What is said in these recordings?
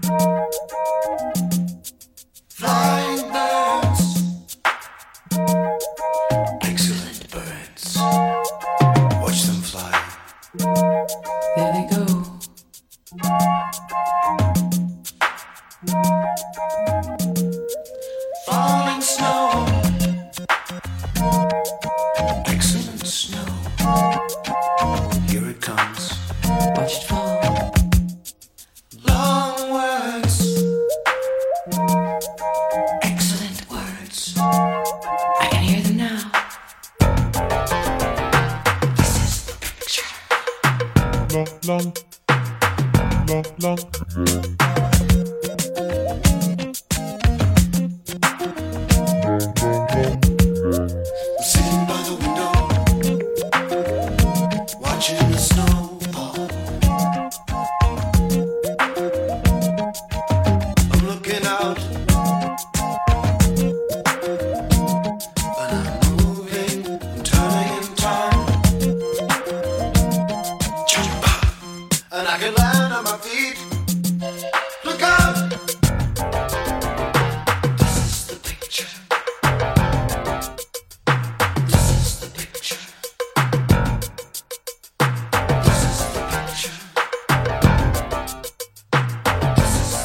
Flying birds, excellent birds. Watch them fly. There they go. Falling snow, excellent snow. Here it comes. Watch it fall. Long words, excellent words. I can hear them now. This is the picture. Long, long, long, long. Sitting by the window, watching the snow fall. I'm looking out, and I'm moving, I'm turning in time. Jump up, and I can land on my feet. Look out! This is the picture. This is the picture. This is the picture. This is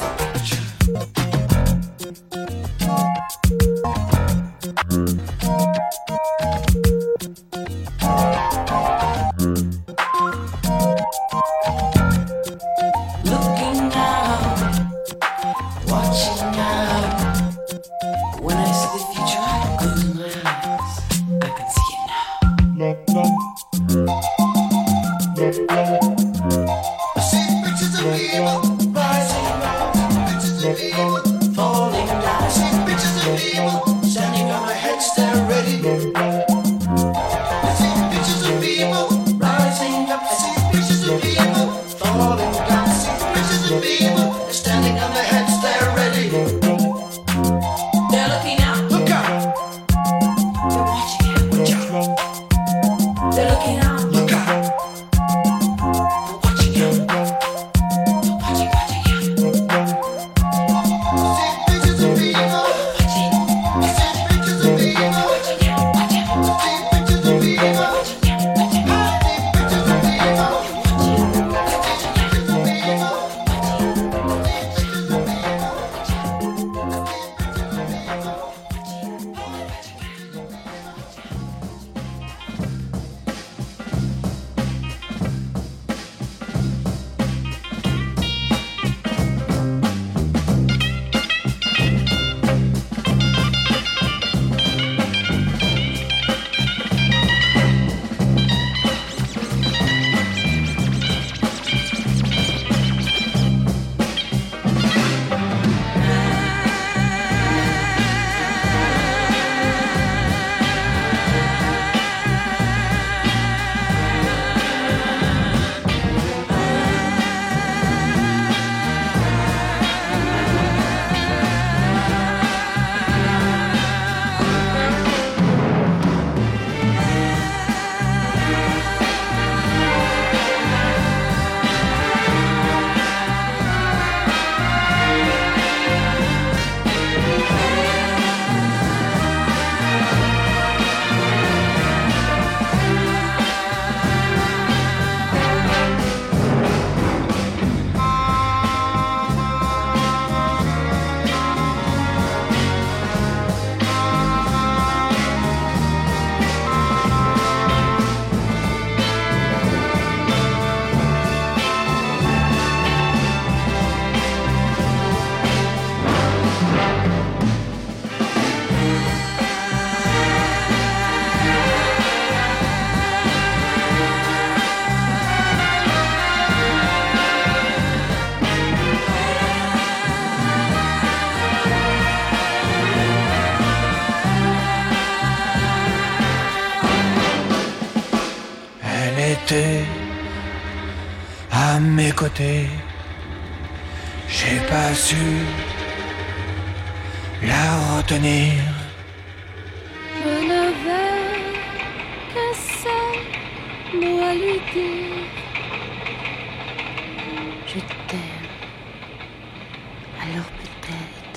looking out, watching out. When I see the future, I close my eyes. I can see it now. Long, long, long. I see pictures of people rising up, pictures of people falling down. I see pictures of people standing on my head, staring ready. I see pictures of people rising up. I see pictures of people falling down. I see pictures of people standing on their heads, staring ready. They're looking out. Look out. They're watching out. Watch out. They're looking out. Look out. They're watching out. They're watching out. I see pictures of people. I see pictures of people. I see pictures of people. I see pictures of people. était à mes côtés. J'ai pas su la retenir. Je n'avais qu'un seul mot à lui dire. Je t'aime. Alors peut-être.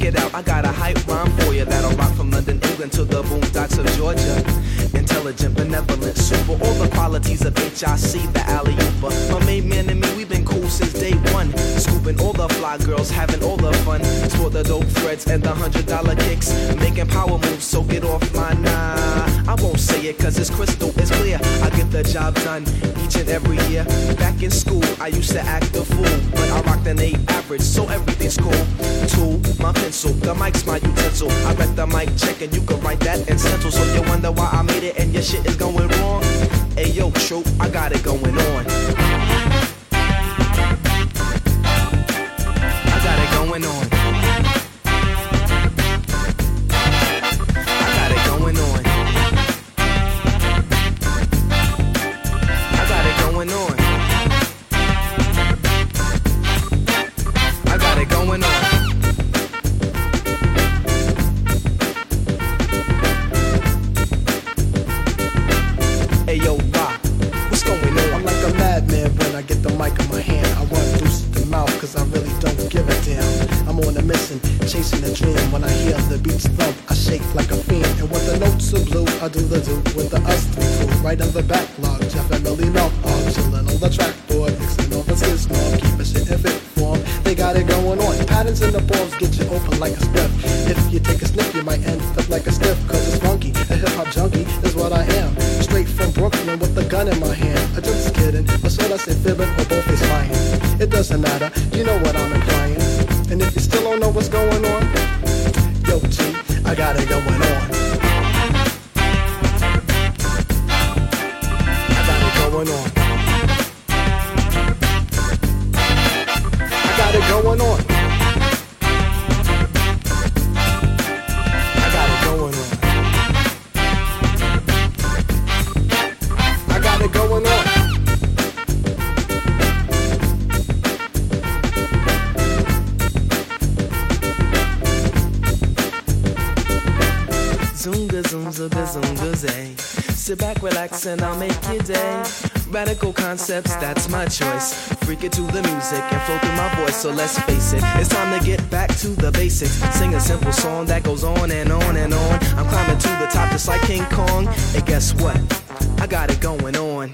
it out, I got a hype rhyme for you that'll rock from London, England to the boondocks of Georgia. Intelligent, benevolent, super, all the qualities of HIC, the alley-ooper. My main man and me, we've been cool since day one. Scooping all the fly girls, having all the fun. Sport the dope threads and the $100 kicks. Making power moves, so get off my nah. I won't say it cause it's crystal, it's clear. I get the job done each and every year. Back in school, I used to act a fool, but I rocked an 8 average, so everything's cool. Tool, my pencil, the mic's my utensil. I read the mic check and you can write that in stencil. So you wonder why I made it and your shit is going wrong. Hey yo, troop, I got it going on. I got it going on. I got it going on. I got it going on. I got it going on. Hey yo, rock, what's going on? I'm like a madman when I get the mic in my hand. I run loose the mouth cause I really don't give a damn. I'm on a mission, chasing a dream. When I hear the beats thump, I shake like a fiend. And when the notes are blue, I do the do with the us three crew. Right on the backlog, Jeff and Millie Mouth are chillin' on the trackboard, mixing on the skid norm, keeping shit in fit form. They got it going on. Patterns in the bombs get you open like a spliff. If you take a sniff, you might end up like a stiff. Cause it's funky, a hip hop junkie is what I am. Straight from Brooklyn with a gun in my hand. I'm just kidding, but should I say fibbing or both is lying? It doesn't matter, you know what I'm implying. And if you still don't know what's going on, yo G, I got it going on. I got it going on. I got it going on. I got it going on. I got it going on. Zoonga, zoom, zooga, zoonga, zay. Sit back, relax, and I'll make your day. Radical concepts, that's my choice. Freak it to the music and flow through my voice. So let's face it, it's time to get back to the basics. Sing a simple song that goes on and on and on. I'm climbing to the top just like King Kong. And guess what? I got it going on.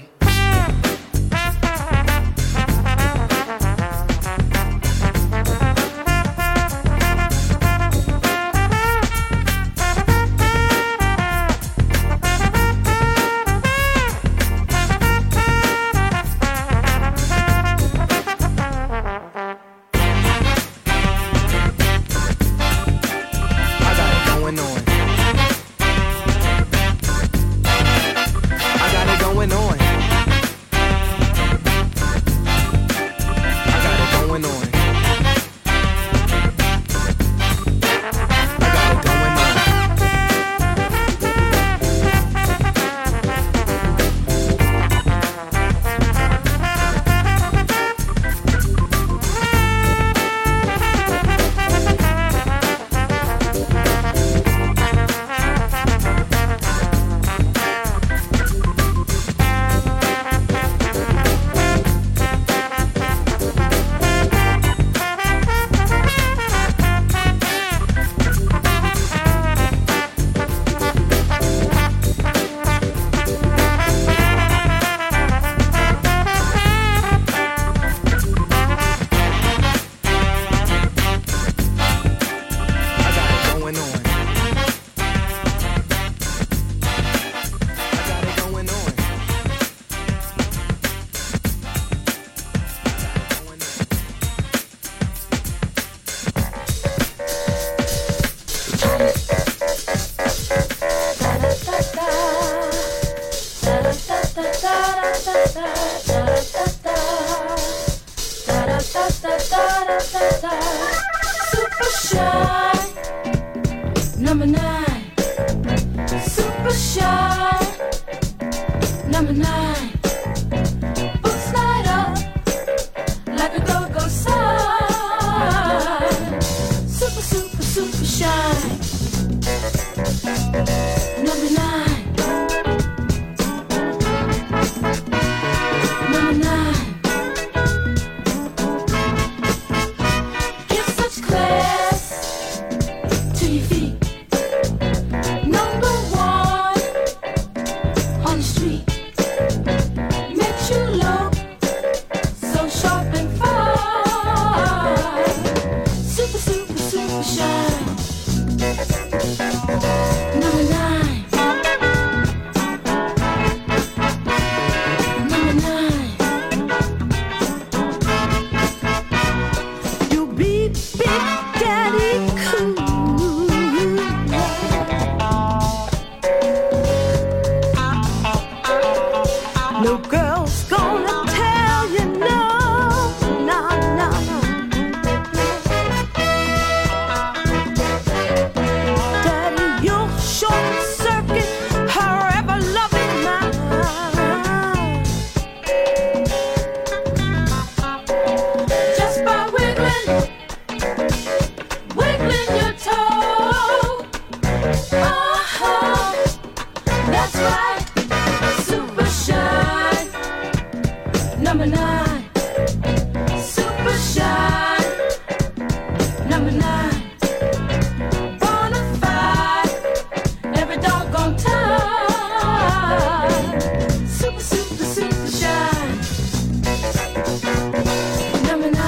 Super shy, number 9. Super shy, number 9. Books light up like a go-go sign. Super, super, super shy, number 9. Number 9. Give such class else gonna tell you no, no, no, no. Daddy, you'll short circuit her ever loving mind. Just by wiggling your toe. Oh, that's right. Super shy. Number 9. Super shy. Number 9. Bonafide. Every doggone time. Super, super, super shy. Number 9.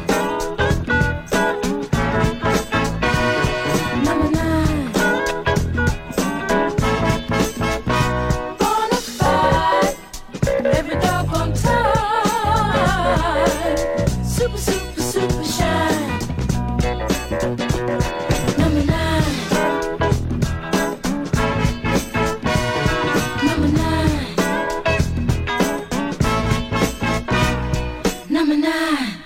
Number 9. Bonafide. Every doggone time. Super, super, super shy. Number 9. Number 9. Number 9.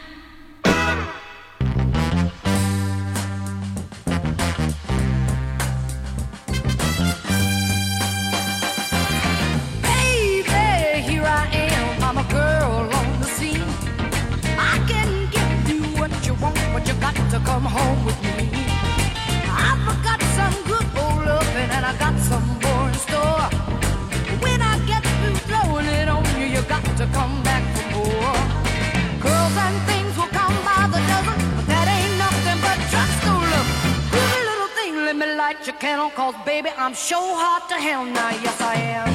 Baby, here I am. I'm a girl on the scene. I can give you what you want, but you got to come home with me. I've got some good old loving and I got some more in store. When I get through throwing it on you, you got to come back for more. Girls and things will come by the dozen, but that ain't nothing but just no love. Pretty little thing, let me light your candle, cause baby, I'm sure hot to hell now, yes I am.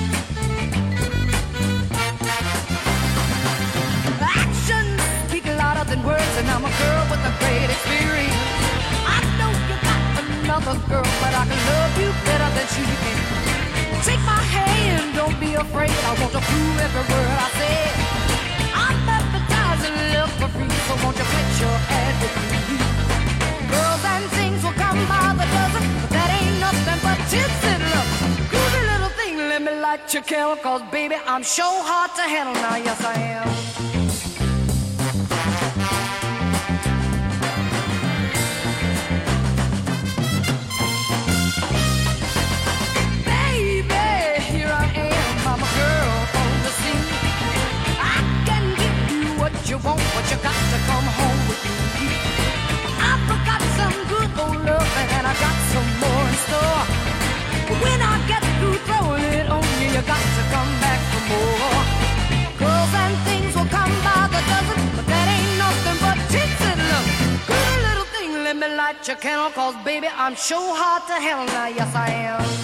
Actions speak louder than words, and I'm a girl with a great experience. I know you got another girl, but I can love you better than she can. Take my hand, don't be afraid. I want to prove every word I say. I'm advertising love for free, so won't you put your ad with me? Girls and things will come by the dozen, but that ain't nothing but tips and love. Groovy little thing, let me light your candle, cause baby, I'm sure hard to handle now, yes I am. Baby, here I am, I'm a girl on the scene. I can give you what you want, but you got to come home with me. I've got some good old love and I got some more in store. When I get through throwing it on you, you got to come back for more. Girls and things will come by the dozen, but that ain't nothing but tits and love. Good little thing, let me light your candle, cause baby, I'm sure hard to handle now, yes I am.